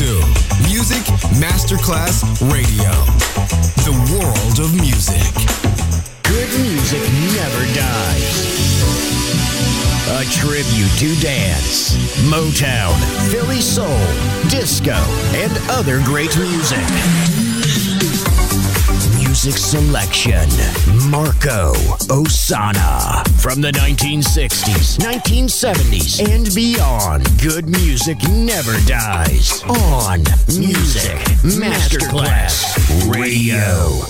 to Music Masterclass Radio, the world of music. Good music never dies. A tribute to dance, Motown, Philly soul, disco, and other great music. Music selection, Marco Ossanna. From the 1960s, 1970s, and beyond, good music never dies. On Music Masterclass Radio.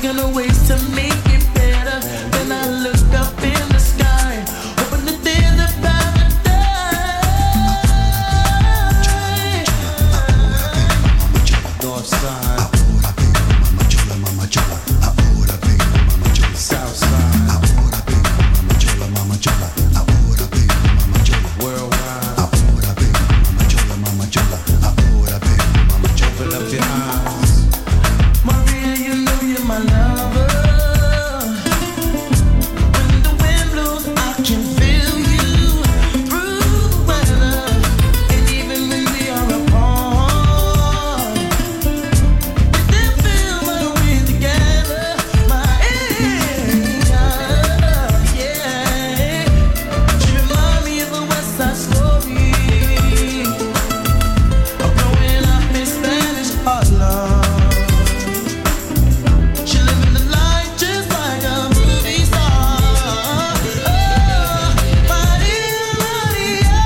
thinking of ways to make it better. Then I look up in the sky, hoping that there's a paradise. North side. Ahora vengo, mamá chola, mamá chola. Ahora vengo, mamá chola. South side. Ahora vengo, mamá chola, mamá chola. Ahora vengo, mamá chola. Worldwide. Ahora vengo, mamá chola, mamá chola. Ahora vengo, mamá chola. Open up your eyes, Maria. You know you're my lover. When the wind blows, I can feel you through weather, and even when we are apart, we still feel when we're together. My yeah. She remind me of a West Side Story. I'm growing up in Spanish Harlem. She living the life just like a movie star. Oh, Maria, Maria.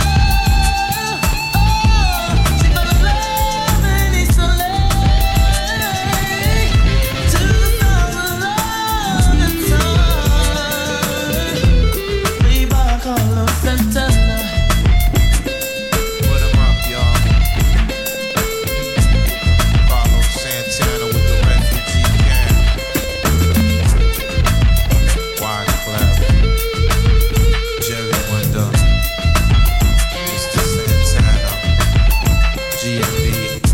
Oh, she fell in love in East LA. To the sound of love and time. Way by Carlos Santana. Put 'em up, y'all. Carlos Santana with the refugee camp. Wise Clef. Jerry Wonder. Mr. Santana. GMB.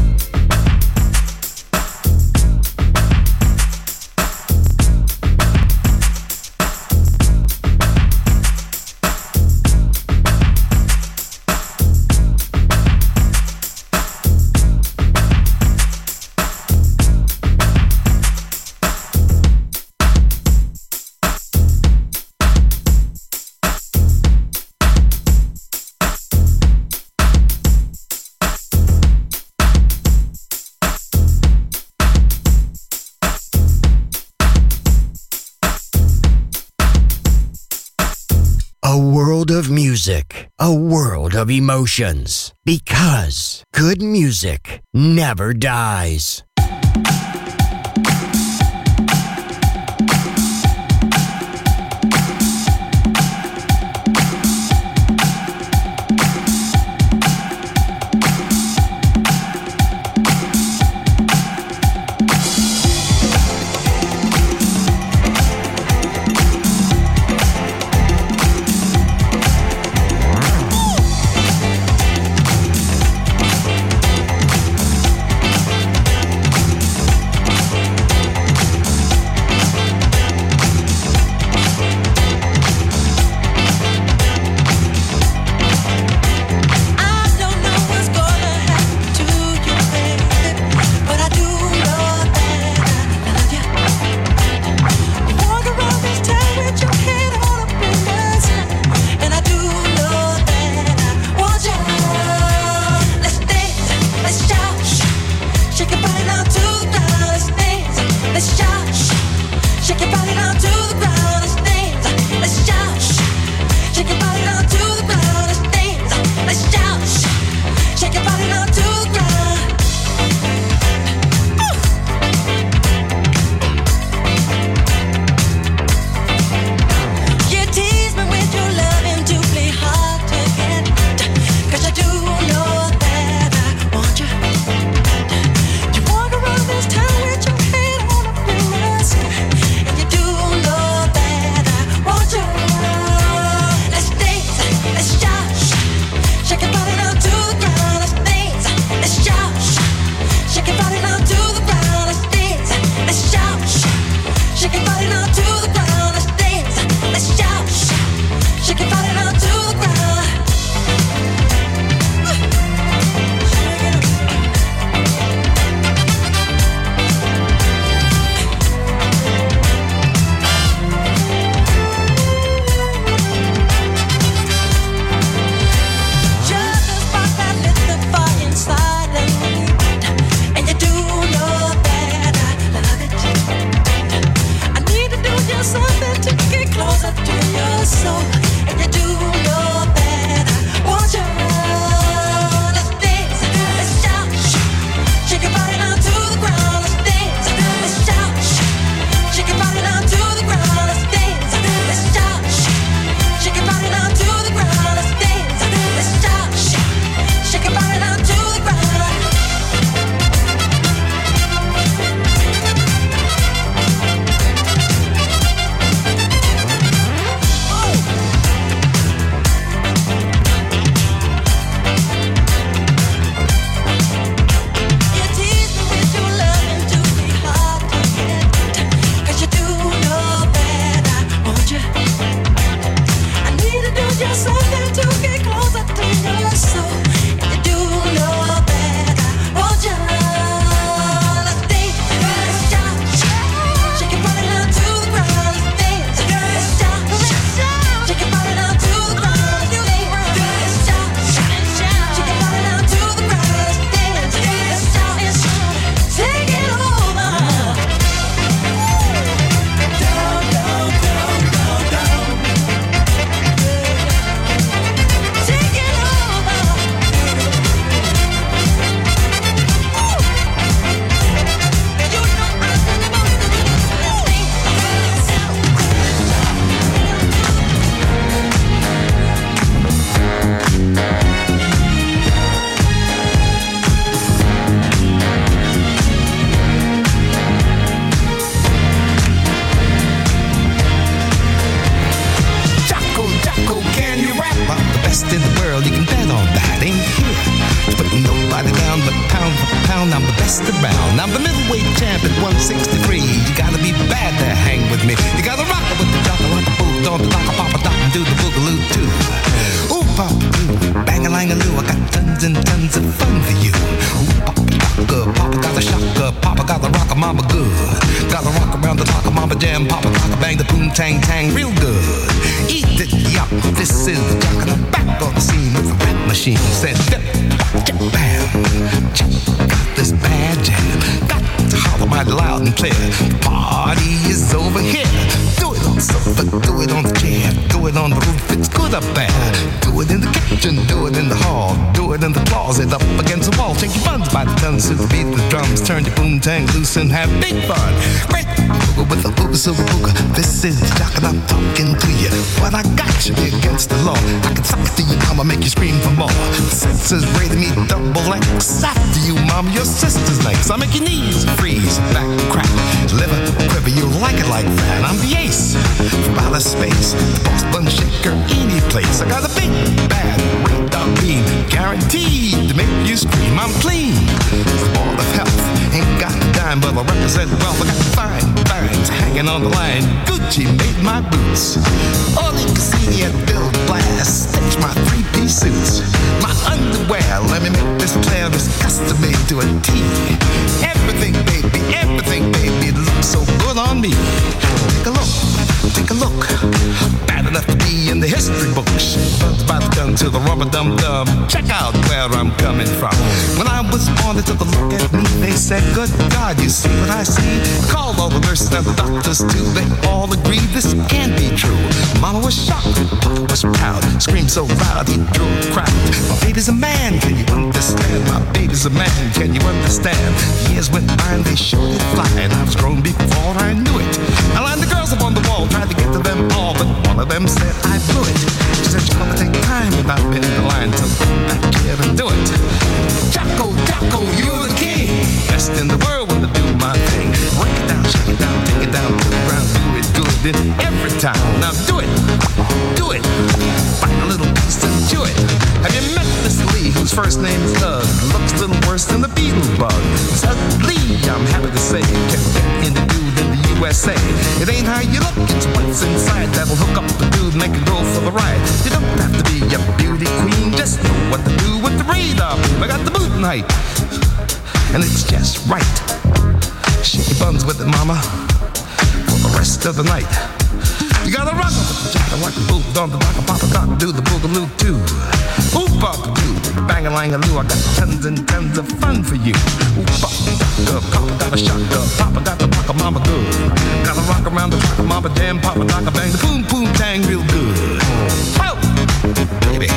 A world of music, a world of emotions. Because good music never dies. the middleweight champ at 163. You gotta be bad to hang with me. You gotta rock it with the jock, rock the boot, don't the dock, pop a dock, and do the boogaloo too. Ooh, pop, bang-a-lang-a-loo, I got tons and tons of fun for you. Ooh, papa, good, papa got a shocker, papa got the rock, mama good. Gotta rock around the clock, mama jam, papa clock, bang the boom, tang, tang, real good. Eat it, yup, this is the jock, and I'm back on the scene with the rap machine. Said, dip, bam, check out this bad jam. Got to holler mighty loud and clear. The party is over here. Do it on the sofa, do it on the chair, do it on the roof, it's good up there. Do it in the kitchen, do it in the hall, do it in the closet, up against the wall. Shake your buns by the tons to the beat of the drums. Turn your boom tang loose and have big fun. Great with the booga silver booga. This is the jock and I'm talking to you. What I got should be against the law. I can suck it to you, mama, make you scream for more. Senses rated me double X. After you, mama, your sister's legs. I make your knees freeze, back crack, liver quiver. You like it like that. I'm the ace from outer space, the boss bun shaker, any place. I got a big bad radar beam, guaranteed to make you scream. I'm clean, the ball of health. Ain't got a dime, but I represent wealth. I got fine vines hanging on the line. Gucci made my boots. Only Cassini and Bill Blast stitch my three-piece suits. My underwear, let me make this clear, is custom made to a T. Everything, baby, looks so good on me. Take a look. Bad enough to be in the history books. Buzzed by the gun to the rubber dum-dum. Check out where I'm coming from. When I was born, they took a look at me. They said, good God, you see what I see? Called all the nurses and the doctors too. They all agreed this can't be true. Mama was shocked, Papa was proud. Screamed so loud he drew a crowd. My baby's a man, can you understand? My baby's a man, can you understand? Years went by and they showed it fly. And I was grown before I knew it. I lined the girls up on the wall, tried to get to them all, but one of them said I blew it. She said she's gonna take time, and I've been in the line to go back here and do it. Jocko, you're the king. Best in the world when I do my thing. Break it down, shake it down, take it down to the ground, do it good every time. Now do it. Find a little piece and chew it. Have you met Miss Lee, whose first name is Doug? Looks a little worse than the beetle bug. Suddenly, I'm happy to say, can get in the dude in the USA. It ain't how you look, it's what's inside that'll hook up the dude, make it go for the ride. You don't have to be a beauty queen, just know what to do with the radar. I got the boot height, and it's just right. Shake your buns with it, mama, for the rest of the night. You gotta rock it, rock the boot, don't the rock a papa doc, do the boogaloo too. Ooh, papa do, bang-a-lang-a-loo, I got tons and tons of fun for you. Ooh, papa got a shotgun, papa got the rock, mama good. Gotta rock around the clock, mama jam, papa doc, bang the boom, boom, tang real good. Oh, baby.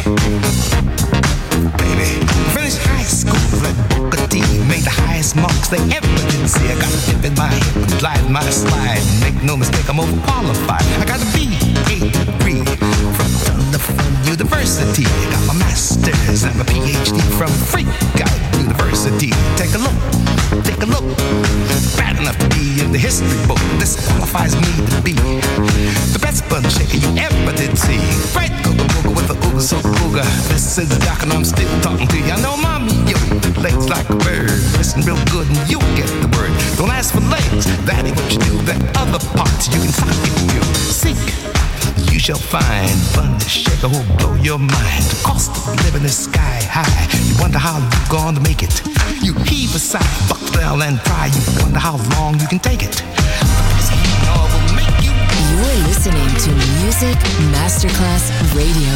Finished high school at Booker T, made the highest marks they ever did see. I got a dip in my hip and glide my slide. Make no mistake, I'm overqualified. I got a B.A. degree from Thunderford University. I got my master's and my PhD from Freak Out University. Take a look. Bad enough to be in the history book. This qualifies me to be the best bun shaker you ever did see. Right, booga with the ooga so booga. This is the doc and I'm still talking to you. I know mommy, yo, legs like a bird. Listen real good and you'll get the word. Don't ask for legs, that ain't what you do. That other parts you can find if you seek. You shall find fun to shaker who'll blow your mind. The cost of living is sky high. You wonder how you're going to make it. You heave a sigh, buck down and cry. You wonder how long you can take it. You're listening to Music Masterclass Radio.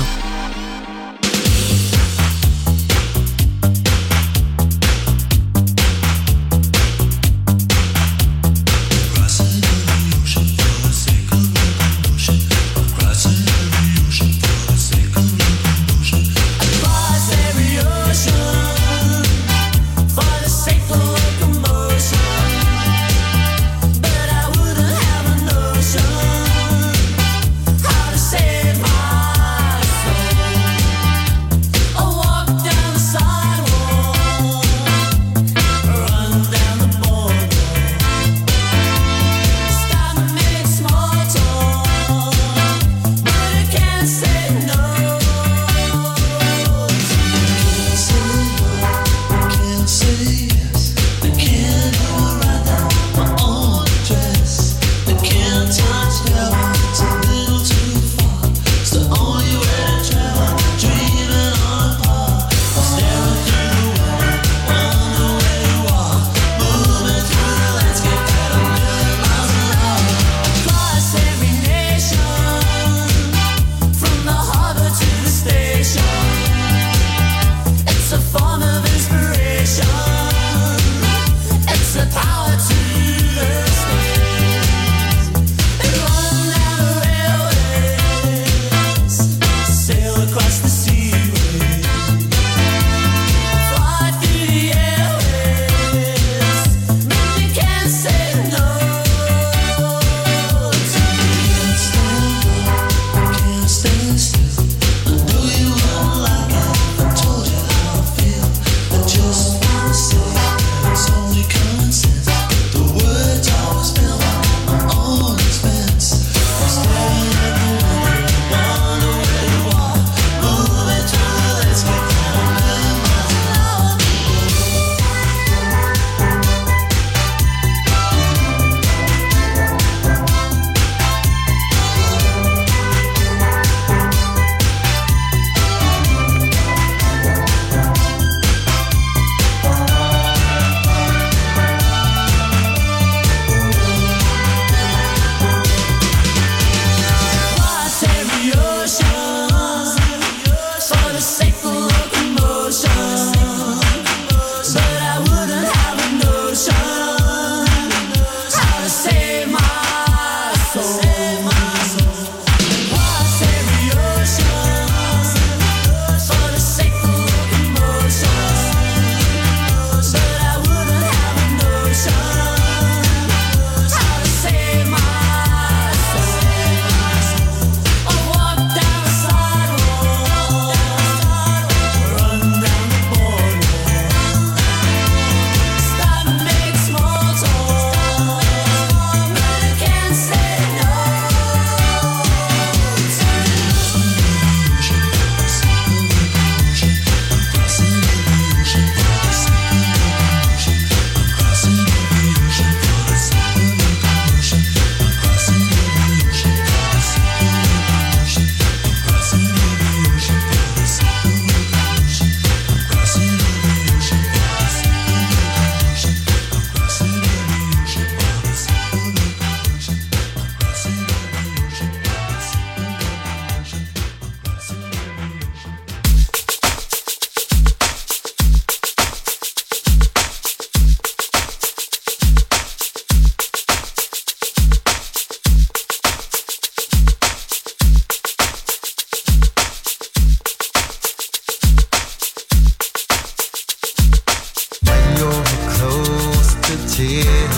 How to save my soul.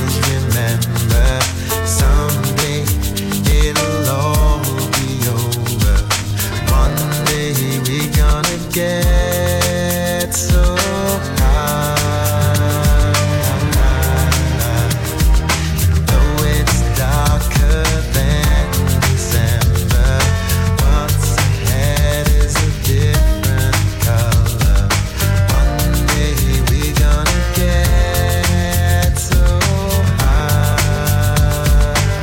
remember someday it'll all be over. One day we're gonna get so high. Though it's darker than December, what's ahead is a different color. One day we're gonna get so high.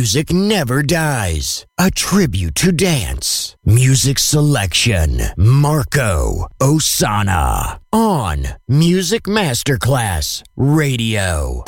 music never dies. A tribute to dance. Music selection. Marco Ossanna. On Music Masterclass Radio.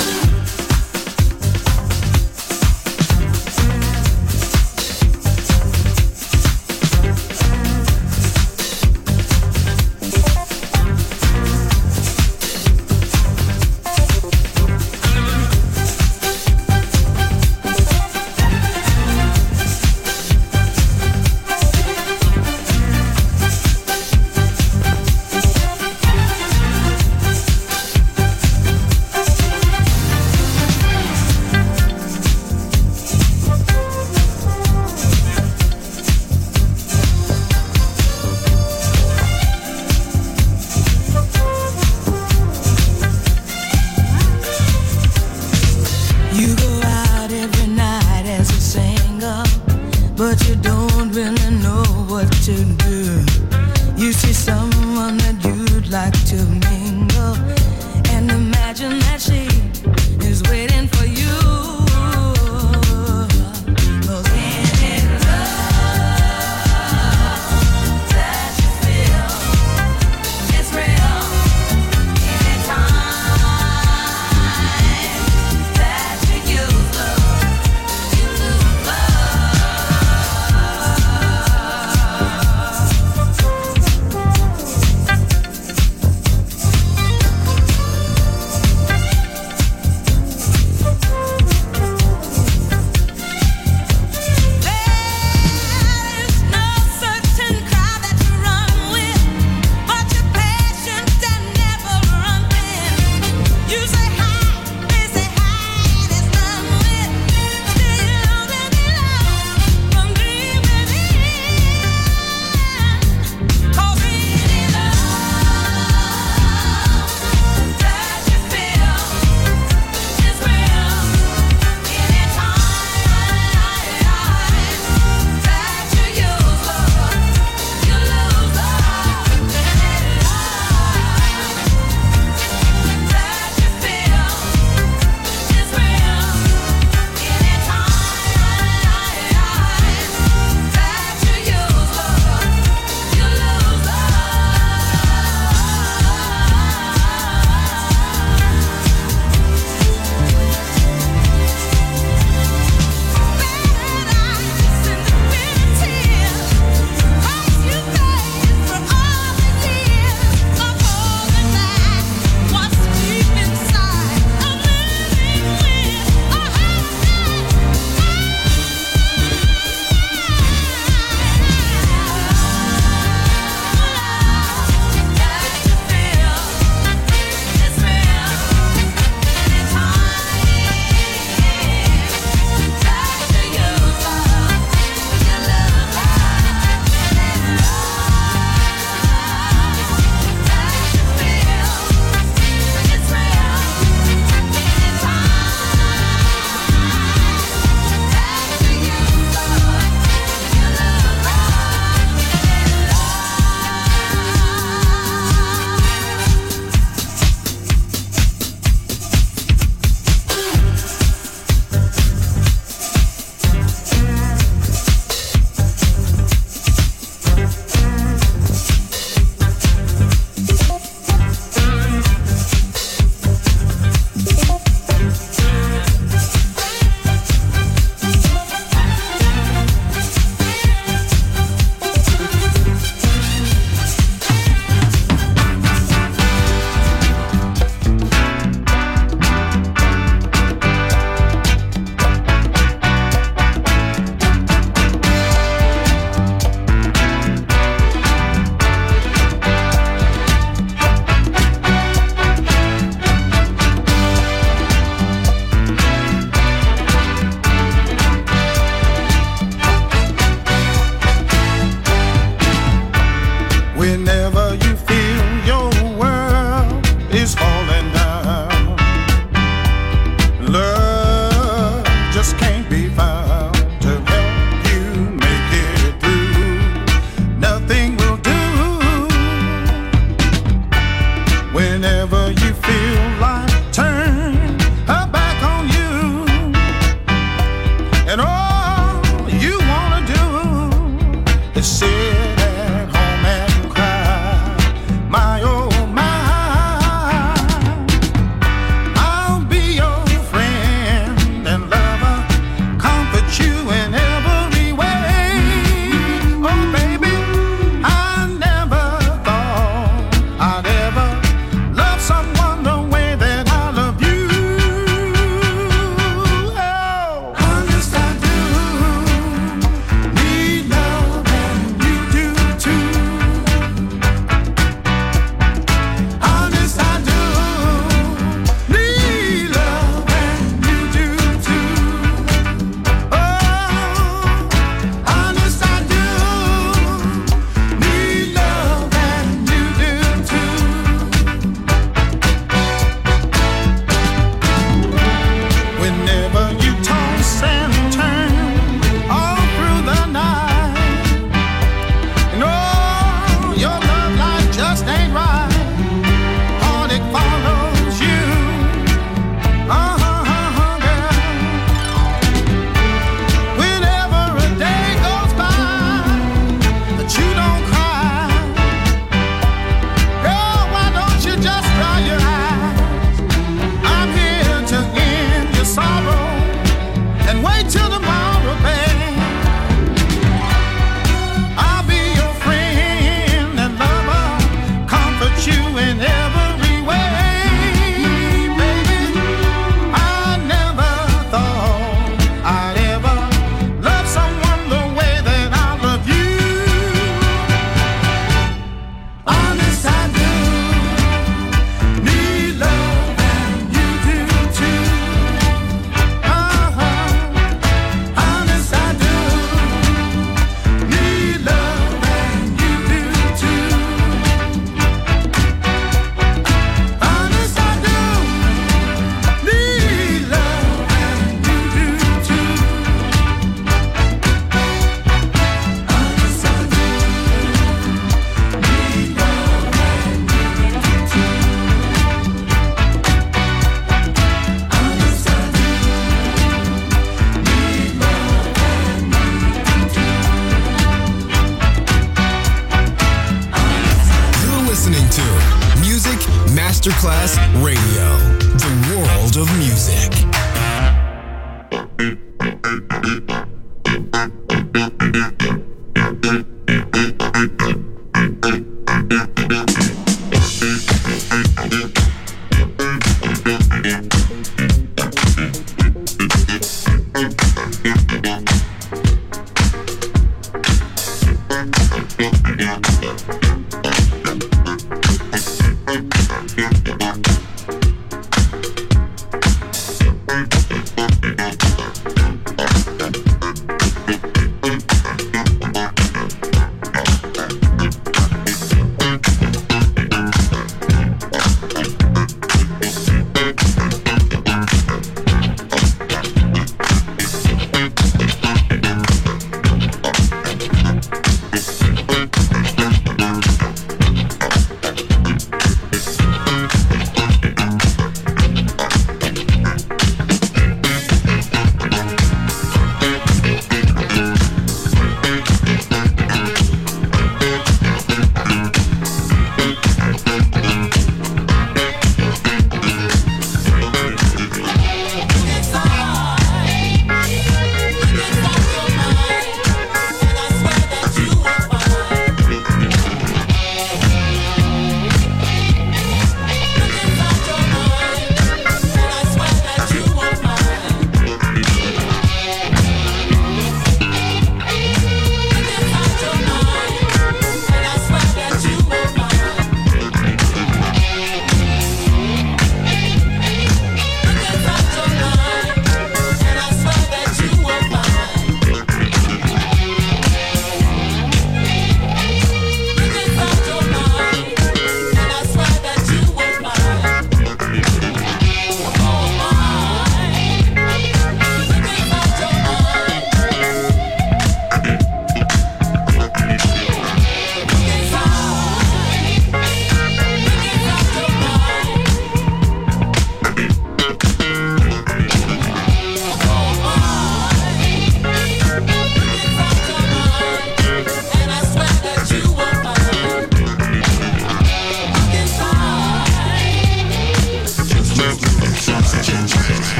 Masterclass Radio, the world of music.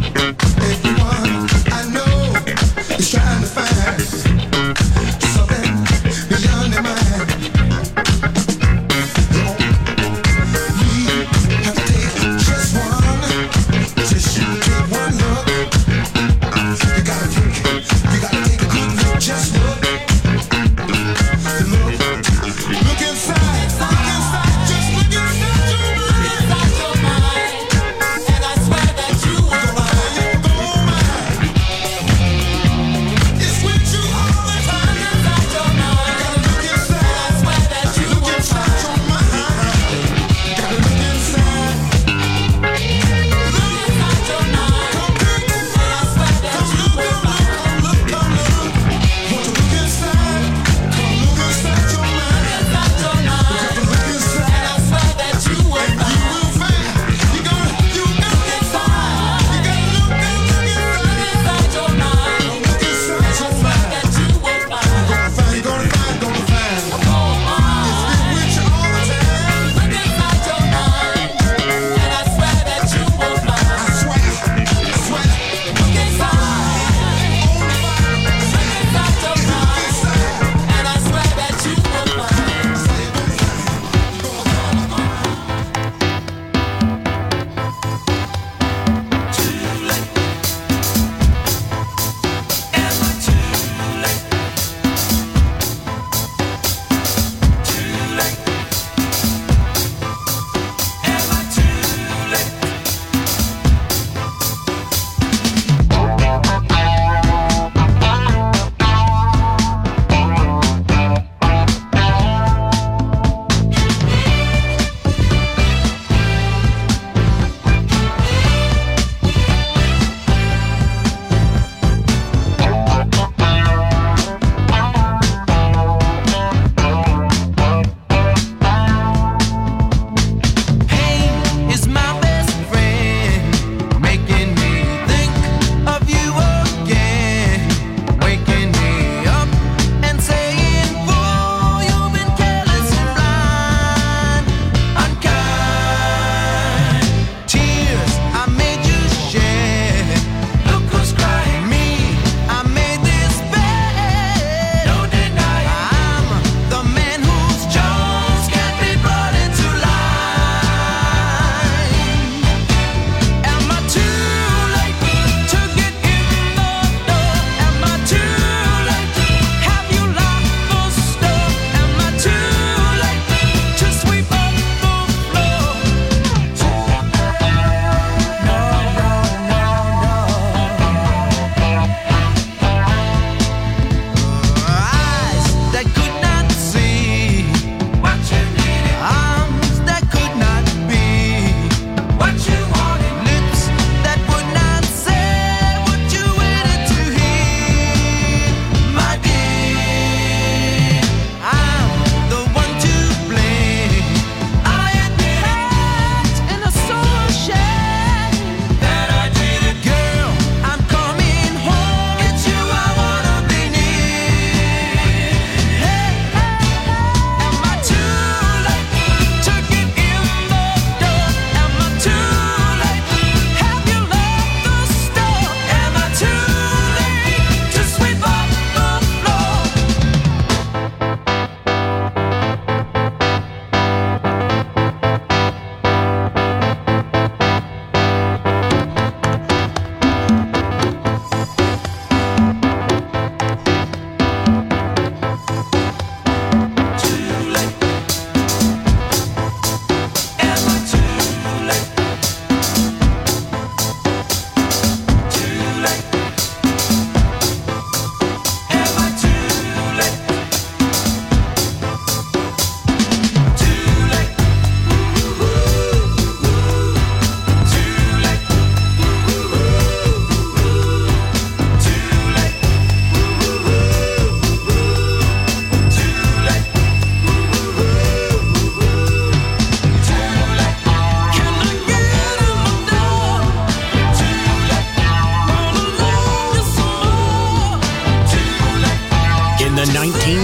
Trying to find something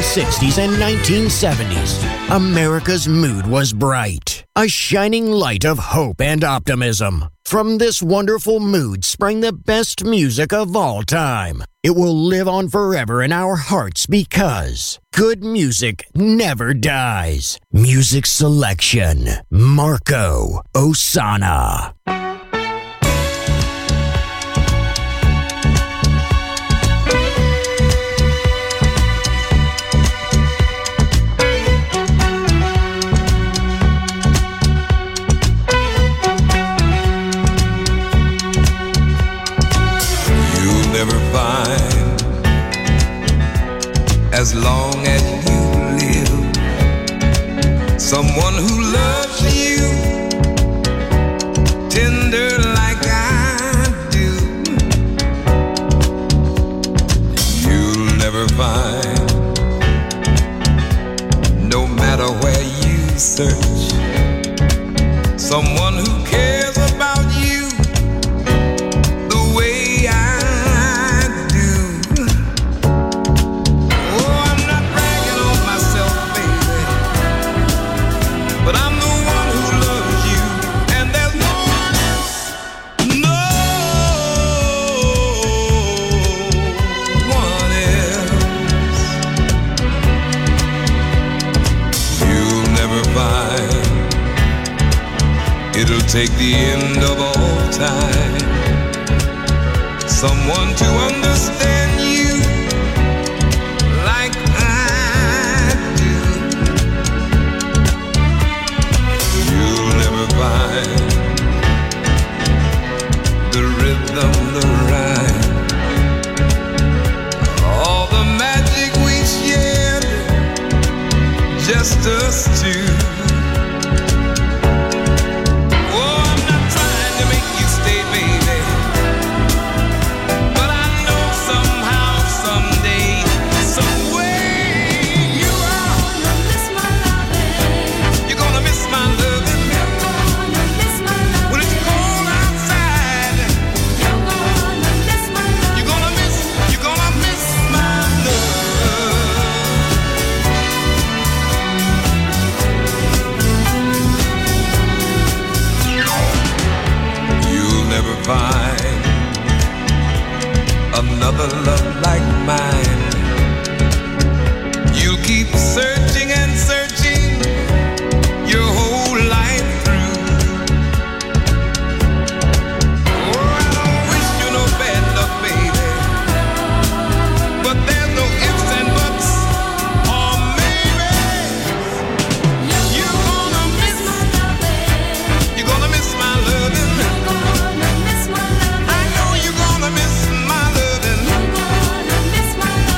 1960s and 1970s, America's mood was bright, a shining light of hope and optimism. From this wonderful mood sprang the best music of all time. It will live on forever in our hearts because good music never dies. Music selection, Marco Ossanna. Never find, as long as you live, someone who loves you tender like I do. You'll never find, no matter where you search, someone who cares about you the way I. But I'm the one who loves you, and there's no one else, no one else. You'll never find, it'll take the end of all time, someone to understand you like I do. Find the rhythm, the rhyme, all the magic we shared, just us two. Oh, I'm not trying to make you stay, baby, but I know somehow, someday, some way you are gonna miss my loving. You're gonna miss my loving. Find another love like mine. You'll keep searching and searching your whole life through. Oh, I don't wish you no bad luck, baby, but there's no ifs and buts, or maybe you're gonna miss my loving. You're gonna miss my loving. Miss my loving.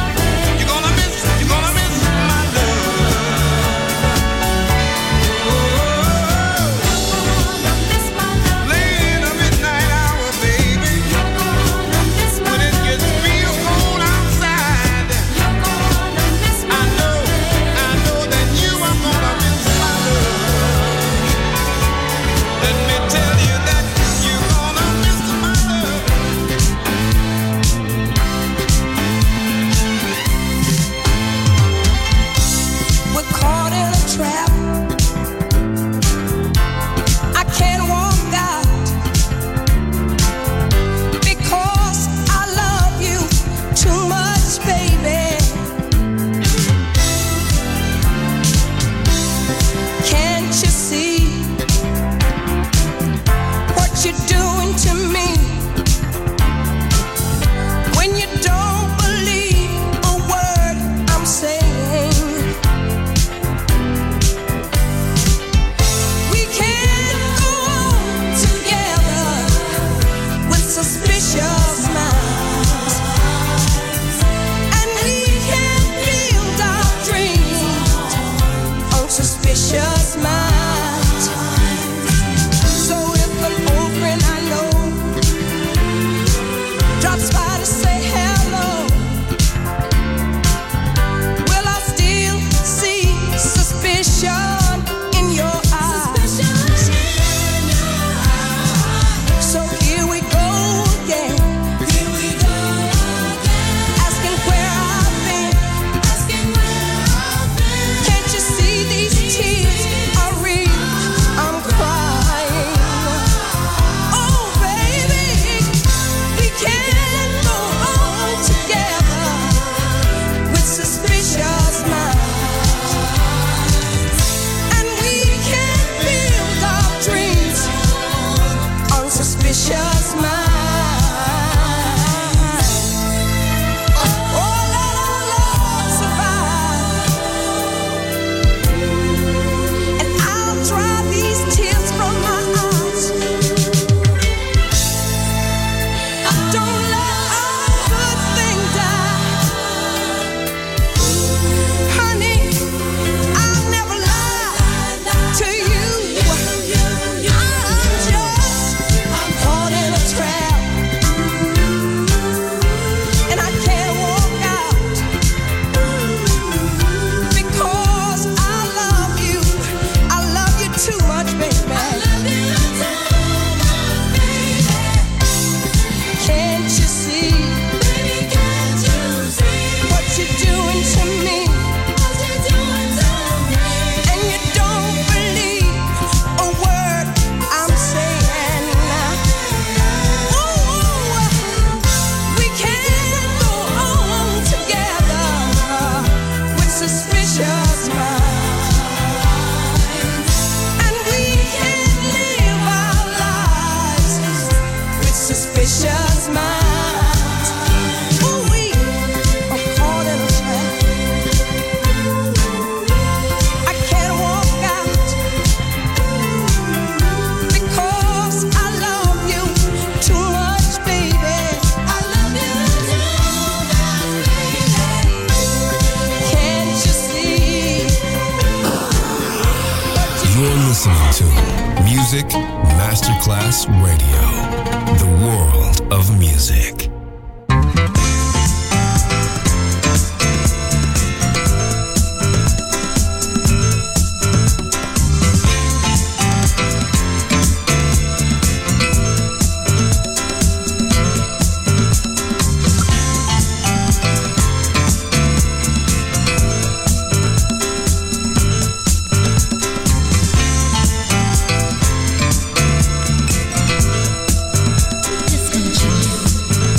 Music Masterclass Radio. The world of music. Just gonna chill.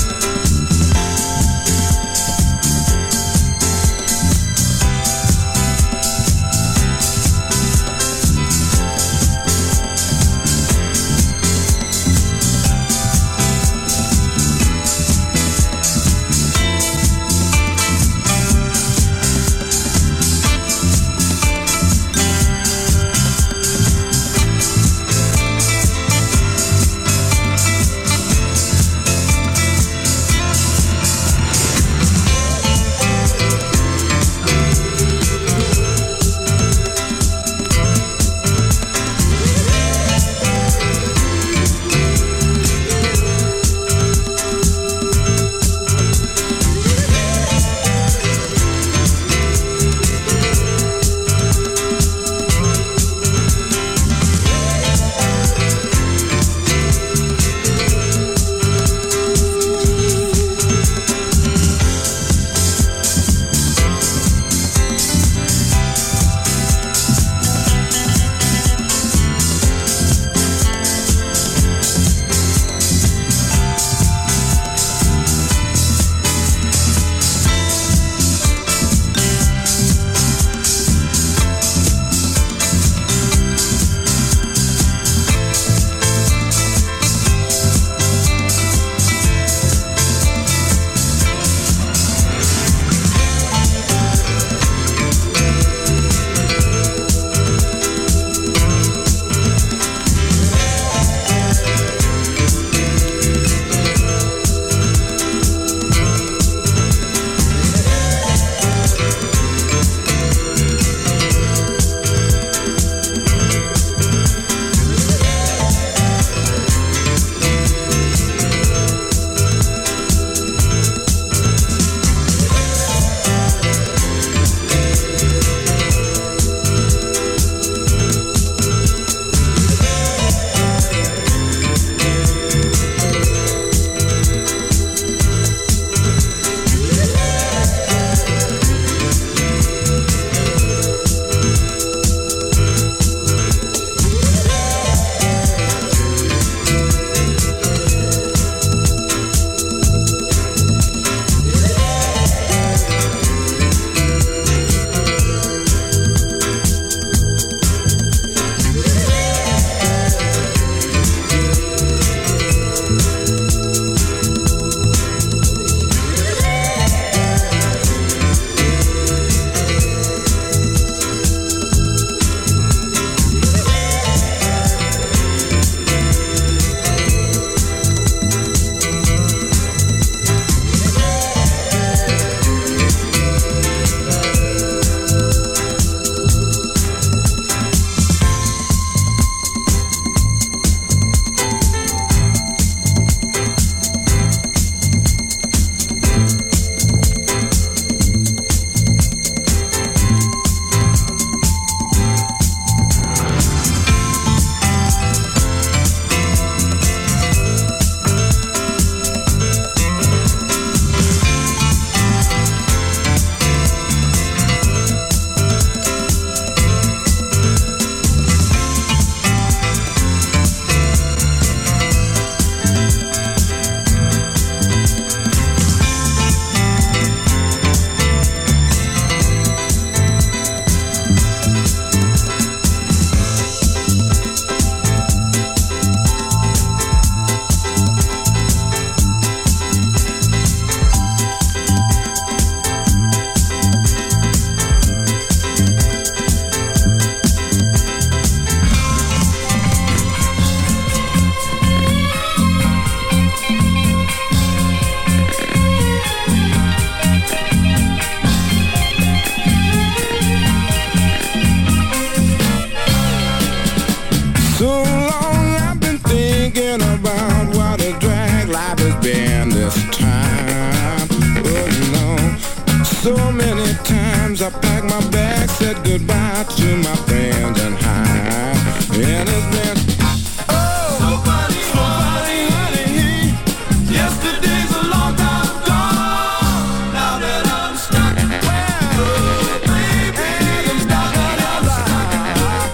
So many times I packed my bags, said goodbye to my friends and hi. And it's been so funny, honey. Yesterday's a long time gone. Now that I'm stuck, well, baby, I'm stuck on your life.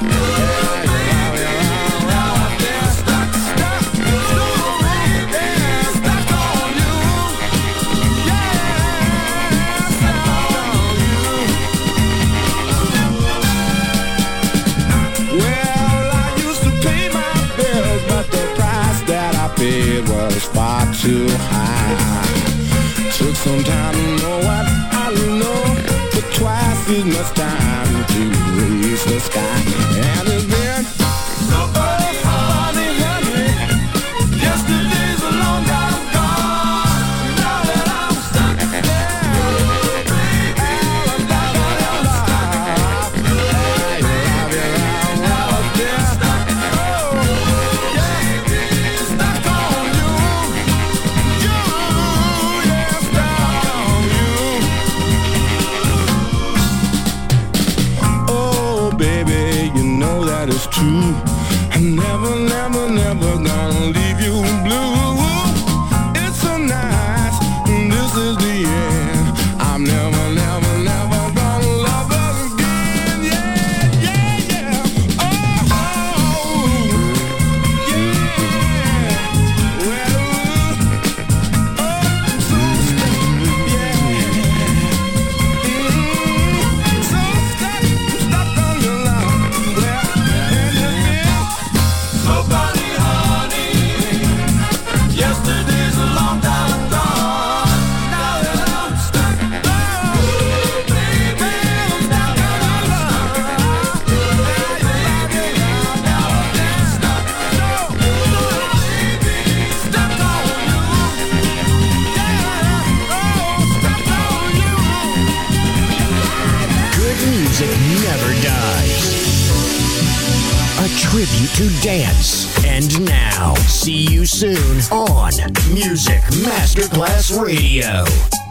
Now I'm stuck, so baby, stuck on you. Well, I used to pay my bills, but the price that I paid was far too high. Took some time to know what I know, but twice as much time to reach the sky. And it's been so funny, honey. Yesterday's a long time gone. Now that I'm stuck, baby, I'm stuck on your life. Oh, baby, you know that it's true. I'm never gonna leave you blue. It's so nice, this is the end. I'm never gonna love again. Yeah. Oh, yeah. Well, so stuck, yeah. So stuck on your love. So funny, honey. Yesterday's a long time gone. Now that I'm stuck, oh, baby, I'm stuck on your love. Now I'm stuck, so baby, stuck on you. Yeah, oh, stuck on you. Good music never dies. A tribute to dance. And now, see you soon on Music Masterclass Radio.